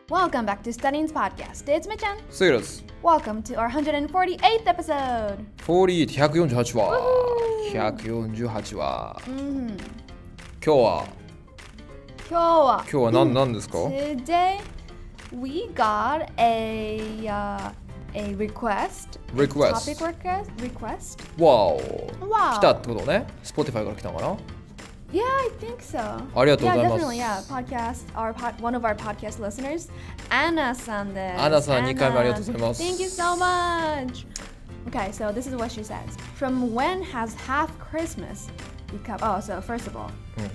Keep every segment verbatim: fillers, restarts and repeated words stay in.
Welcome back to Studying's podcast. It's Michan. セイラス Welcome to our one hundred forty-eighth episode. フォーリーひゃくよんじゅうはち話ひゃくよんじゅうはち話、 Mm-hmm. 今日は今日は今日は何何ですか Today we got a uh, a request. Request. Topic request. Request. わお Wow. 来たってことね Spotify から来たのかな Yeah, I think so. ありがとうございます Yeah, definitely. Yeah, podcast. Our pod, one of our podcast listeners, Anna san desu. Anna san, Anna. にかいめありがとうございます Thank you so much. Okay, so this is what she says. From when has half Christmas become? Oh, so first of all,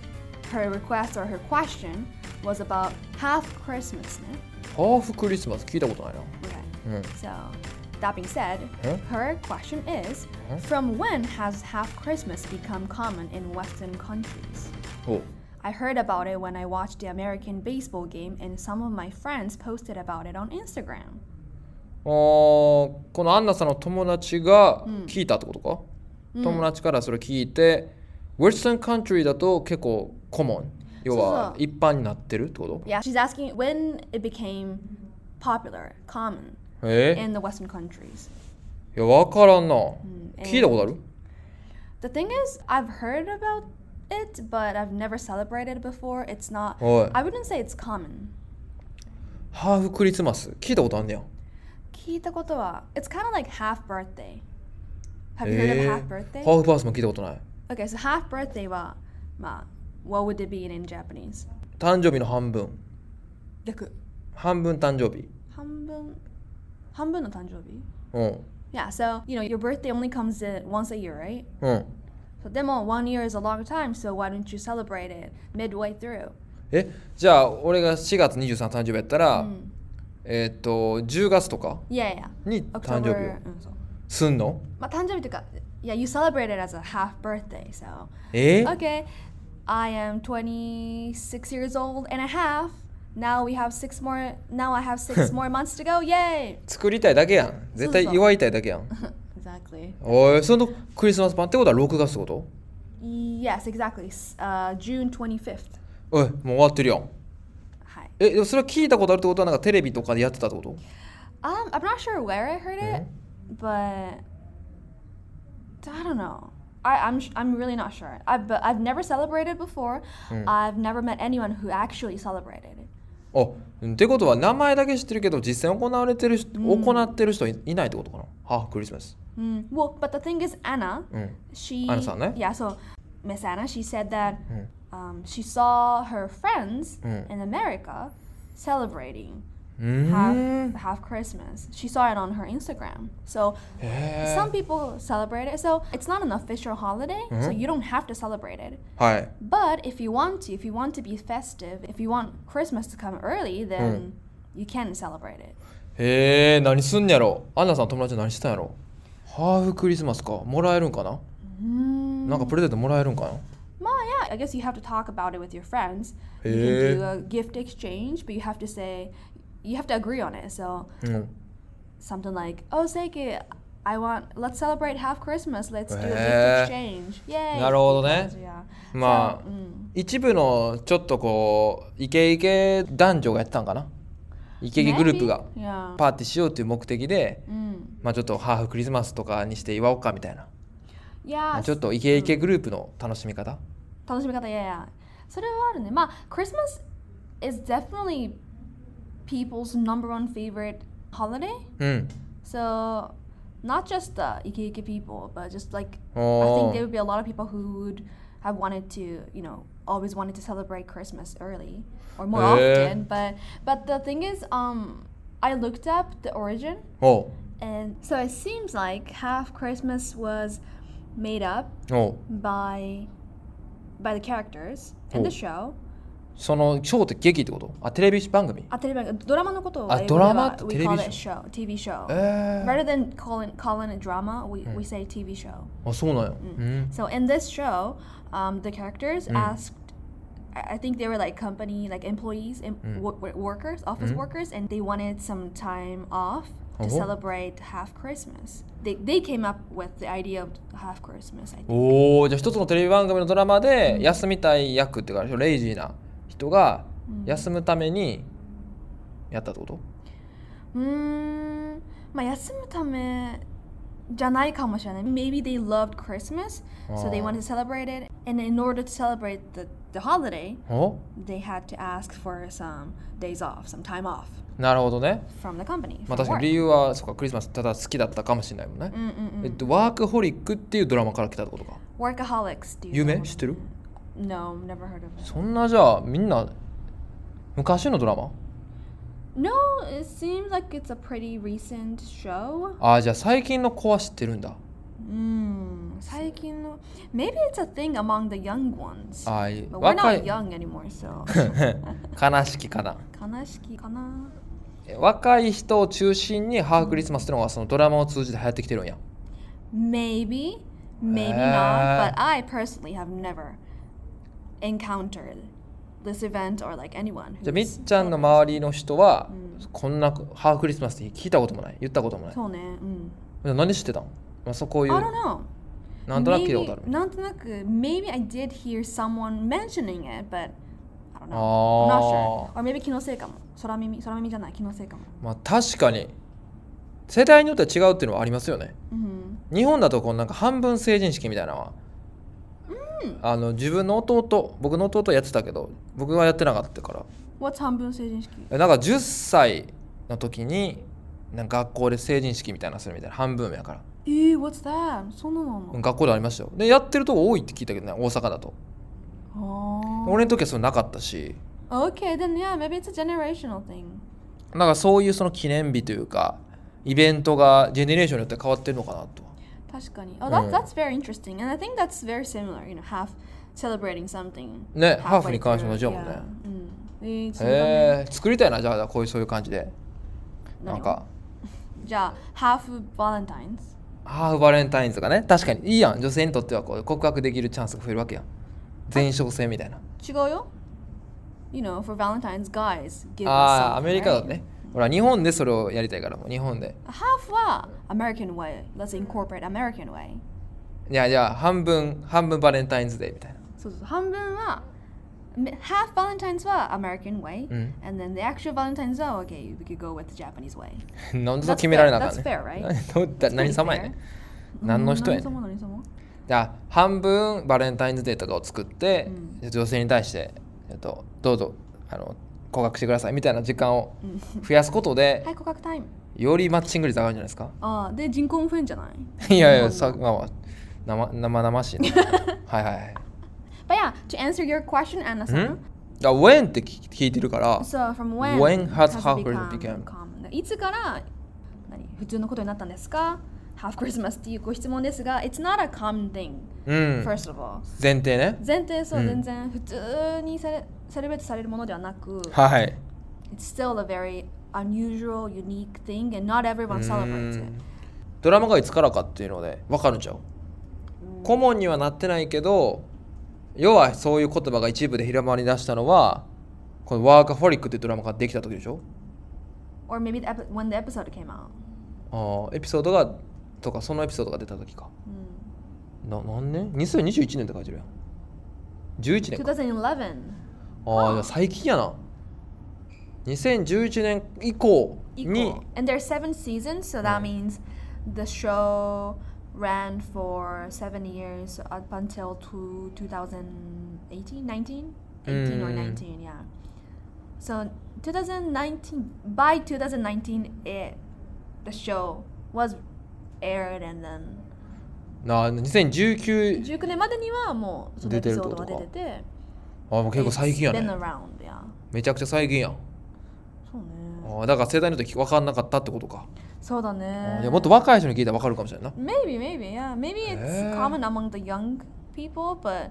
her request or her question was about half Christmas. ねハーフクリスマス聞いたことないな Okay. うん So, that being said, Huh? her question is, Huh? from when has half Christmas become common in Western countries? お I heard about it when I watched the American baseball game and some of my friends posted about it on Instagram. あーこのアンナさんの友達が聞いたってことか、友達からそれ聞いて Western country だと結構コモン要は一般になってるってこと Yeah, she's asking when it became popular, common え in the Western countries. いや分からんな、 え聞いたことある The thing is, I've heard about it, but I've never celebrated it before. It's not, おい I wouldn't say it's common. ハーフクリスマス聞いたことあんねや聞いたことは It's kind of like half birthday. Have you heard of half ハ birthday? ーフバースも聞いたことない Okay, so half birthday は、まあ、what would it be in, in Japanese? 誕生日の半分逆。 半分誕生日半分半分の誕生日うん Yeah, so, you know, your birthday only comes in once a year, right? うん So, でも one year is a long time, so why don't you celebrate it midway through? えじゃあ俺がしがつにじゅうさん誕生日やったら、えーっとじゅうがつとか Yeah, yeah. に誕生日を October, うん、そう。 すんのまあ、誕生日というか、yeah, you celebrate it as a half birthday, so. え Okay, I am twenty-six years old and a half. Now we have six more, now I have six more months to go, yay! 作りたいだけやん絶対祝いたいだけやん Exactly. おいそのクリスマスパンってことはろくがつってこと Yes, exactly. Uh, June twenty-fifth. おいもう終わってるやんはい。 えでもそれは聞いたことあるってことはなんかテレビとかでやってたってこと Um, I'm not sure where I heard it, but I don't know. I, I'm sh- I'm really not sure. I but I've never celebrated before. I've never met anyone who actually celebrated it. あってことは名前だけ知ってるけど実際行われてる人、行ってる人いいないってことかなハーフクリスマス Mm. Well, but the thing is, Anna, うん she Anna-san, ne? yeah. So Miss Anna, she said that um, she saw her friends in America celebrating うー half ん half Christmas. She saw it on her Instagram. So へ some people celebrate it. So it's not an official holiday, so you don't have to celebrate it. ーはい But if you want to, if you want to be festive, if you want Christmas to come early, then you can celebrate it. へえ何すんやろアンナさん友達何してたんやろハーフクリスマスかもらえるんかな Mm. なんかプレゼントもらえるんかな Well, yeah, I guess you have to talk about it with your friends. You Eh. can do a gift exchange, but you have to say, you have to agree on it. So うん something like, oh, Seiki, I want, let's celebrate half Christmas. Let's do a Eh. gift exchange. Yay. なるほどね Yeah. まあ So, mm. 一部のちょっとこうイケイケ男女がやってたんかなイケイケグループが Maybe. Yeah. パーティーしようという目的で Mm. まあちょっとハーフクリスマスとかにして祝おうかみたいな Yeah. ちょっとイケイケグループの楽しみ方楽しみ方、yeah, yeah. それはあるね。まあ、Christmas is definitely people's number one favorite holiday. うん So, not just the Ike people, but just like, I お think there ー would be a lot of people who would have wanted to, you know, always wanted to celebrate Christmas early or more Eh. often. But, but the thing is, um, I looked up the origin, お and so it seems like half Christmas was made up うおう by by the characters in the Oh. show. そのショーって劇ってことあテレビ番組あ、テレビ番組ドラマのことをあ、 英語ではドラマって we テレビ call ショ it show, T V show. え Rather than calling calling it drama, we, we say T V show. ー、あそうなんや、うん So in this show, um, the characters asked, I I think they were like company, like employees, em- wo- wo- workers, office workers, and they wanted some time off to Oh. celebrate half Christmas. They, they came up with the idea of half Christmas, I think. おおじゃあ一つのテレビ番組のドラマで休みたい役っていうかレイジーな人が休むためにやったってこと？ うーん、まあ休むためじゃないかもしれない。Maybe they loved Christmas, so they wanted to celebrate it. And in order to celebrate the, the holiday, they had to ask for some days off, some time off. なるほどね。 From the company. まあ確かに理由はそうか、クリスマスただ好きだったかもしれないもんね。うんうんうん、えっと、ワークホリックっていうドラマから来たってことか。 Workaholics っていう。 有名？知ってる？ No, never heard of it. そんなじゃあみんな昔のドラマ？ No, it seems like it's a pretty recent show. ああ、じゃあ最近の子は知ってるんだ。 うん、最近の Maybe it's a thing among the young ones. ああ、いい。 But we're not young anymore, so. 悲しきかな。 悲しきかな。 若い人を中心にハーフクリスマスってのがそのドラマを通じて流行ってきてるんや。 Maybe, maybe not, but I personally have never encountered this event or like anyone. じゃあみっちゃんの周りの人は、うん、こんなハーフクリスマスって聞いたこともない言ったこともない。 そうね、うん。 何知ってたの？まあ、そうこういう I don't know. なんとなく聞いたことある。 なんとなく Maybe I did hear someone mentioning it, but I don't know. I'm not sure. Or maybe 気のせいかも。空耳、空耳じゃない気のせいかも。 まあ確かに世代によっては違うっていうのはありますよね。 うん、 日本だとこうなんか半分成人式みたいなのは、うん、あの自分の弟、僕の弟やってたけど僕はやってなかったから。 What's 半分成人式？ なんかじゅっさいの時になんか学校で成人式みたいなのするみたいな半分やから。 えー、what's that? そんなの？ 学校でありましたよ。でやってるとこ多いって聞いたけどね、大阪だと。俺の時はそれなかったし。 Okay, then yeah, maybe it's a generational thing. なんかそういうその記念日というかイベントがジェネレーションによって変わってるのかなと。 確かに。Oh, that, that's very interesting. And I think that's very similar, you know, half celebrating something. ね、ハーフに関しても同じだもんね。 うん、えー、 へえ、作りたいな、じゃあこういうそういう感じで。なんか。 じゃあ、ハーフバレンタインズ。 ハーフバレンタインズがね、確かにいいやん。女性にとってはこう告白できるチャンスが増えるわけやん。前哨戦みたいな。 違うよ。You know, for Valentine's, guys give us something. ああ、アメリカだね。ほら、日本でそれをやりたいからもう日本で。 ハーフは American way. Let's incorporate American way. いやいや、半分、半分バレンタインズデーみたいな。 そうそう、半分はHalf Valentine's は American way、うん、and then the actual Valentine's は okay, we could go with the Japanese way. なんでそう決められなかったね。 That's fair, right? 何様やね。何の人やね。 何様何様。 じゃあ半分バレンタインズデーとかを作って、うん、女性に対して、えっと、どうぞあの告白してくださいみたいな時間を増やすことで、 はい、告白タイム。 よりマッチング率上がるんじゃないですか。 ああ、で人口も増えんじゃない？ いやいや、さまあまあ生生々しいね。はいはい。 But yeah, to answer your question, Anna さん。 When って聞いてるから。 So from when, when has half become common? いつから何普通のことになったんですか？Half Christmas っていうご質問ですが、It's not a common thing、うん、first of all 前提ね前提そう、うん、全然普通にセレセレブレートされるものではなく、 はい、 It's still a very unusual, unique thing and not everyone celebrates it。 ドラマがいつからかっていうので分かるんちゃう、うん、顧問にはなってないけど要はそういう言葉が一部で広まり出したのはこのワーカホリックっていうドラマができた時でしょ？ Or maybe the epi- when the episode came out。 ああ、エピソードがとかそのエピソードが出た時か、うん、な何年 ?にせんにじゅういちねんって書いてるやん。じゅういちねんか。 にせんじゅういちねん。 ああ、じゃあ最近やな。にせんじゅういちねん以降に。 And there's seven seasons, so that means the show ran for seven years up until to twenty eighteen, nineteen, eighteen or nineteen, yeah. So twenty nineteen, by twenty nineteen, it the show was aired and then なにせんじゅうきゅうじゅうきゅうねんまでにはもうそのエピソードが出てて、 ああもう結構最近やね。 Been around, yeah. めちゃくちゃ最近やん。 そうね。 ああだから世代によって分かんなかったってことか。 そうだね。 いやもっと若い人に聞いたら分かるかもしれないな。 Maybe, maybe, yeah. Maybe it's common among the young people, but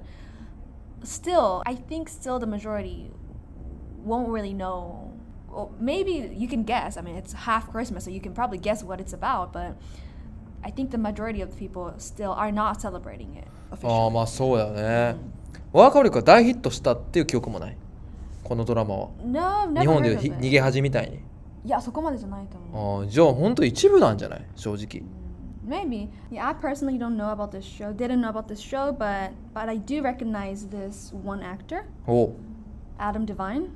still, I think still the majority won't really know. Well, maybe you can guess. I mean, it's half Christmas, so you can probably guess what it's about, but I think the majority of the people still are not celebrating it officially. ああまあそうだよね。ワーカホリックが大ヒットしたっていう記憶もない。このドラマは。 No, never 日本でいう逃げ恥みたいに。 いやそこまでじゃないと思う。ああじゃあ本当一部なんじゃない正直。 Maybe. Yeah, I personally don't know about this show. Didn't know about this show, but but I do recognize this one actor. お。 Adam Devine.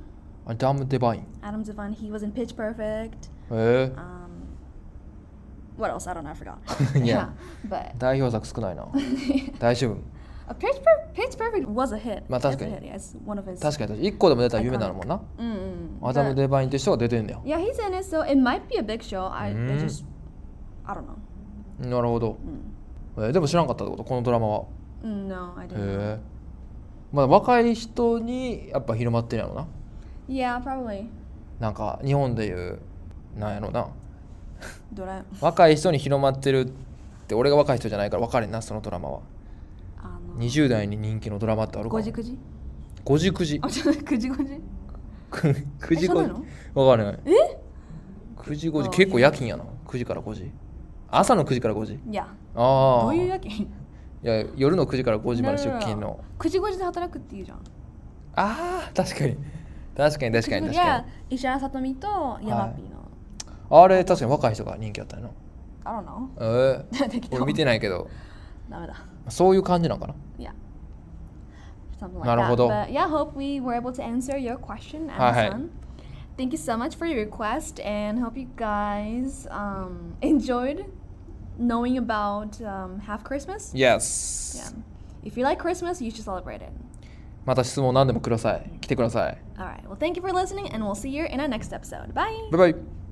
アダム・デバイン。 Adam Devine, he was in Pitch Perfect. へえ Um, what else? I don't know, I forgot. Yeah. But 代表作少ないな大丈夫 a Pitch, Per- Pitch Perfect was a hit. まあ It's a 確かに hit, yeah. It's one of his. 確かに確かにいっこでも出たら有名なのもんな Mm-mm. アダム・ But- デバインって人が出てんだよ Yeah, he's in it, so it might be a big show. I, I Mm. just, I don't know. なるほど、えーでも知らんかったってことこのドラマは Mm, no, I へ didn't. えまあ若い人にやっぱ広まってるやろな Yeah, probably. なんか日本でいうなんやろな Dora- 若い人に広まってるって俺が若い人じゃないから分かれんなそのドラマはあのにじゅう代に人気のドラマってあるかごじくじごじくじあ、ちょっとくじごじくじごじえそうなの分かんないえくじごじあ結構夜勤やなくじからごじ朝のくじからごじいや、 ああどういう夜勤いや夜のくじからごじまで出勤のくじごじで働くっていうじゃん。 ああ確かに確かに確かに確いやか、 石原さとみとヤマピーの。 にあれ確かに若い人が人気あったよな I don't know. ええ適当俺見てないけどダメだ。 そういう感じなんかな Yeah. Something like なるほど。 that. But yeah, hope we were able to answer your question, はいはい。 Amazon. Thank you so much for your request and hope you guys um, enjoyed knowing about um, Half Christmas. Yes Yeah. If you like Christmas, you should celebrate it. また質問何でもください来てください All right. Well, thank you for listening, and we'll see you in our next episode. Bye. バイバイ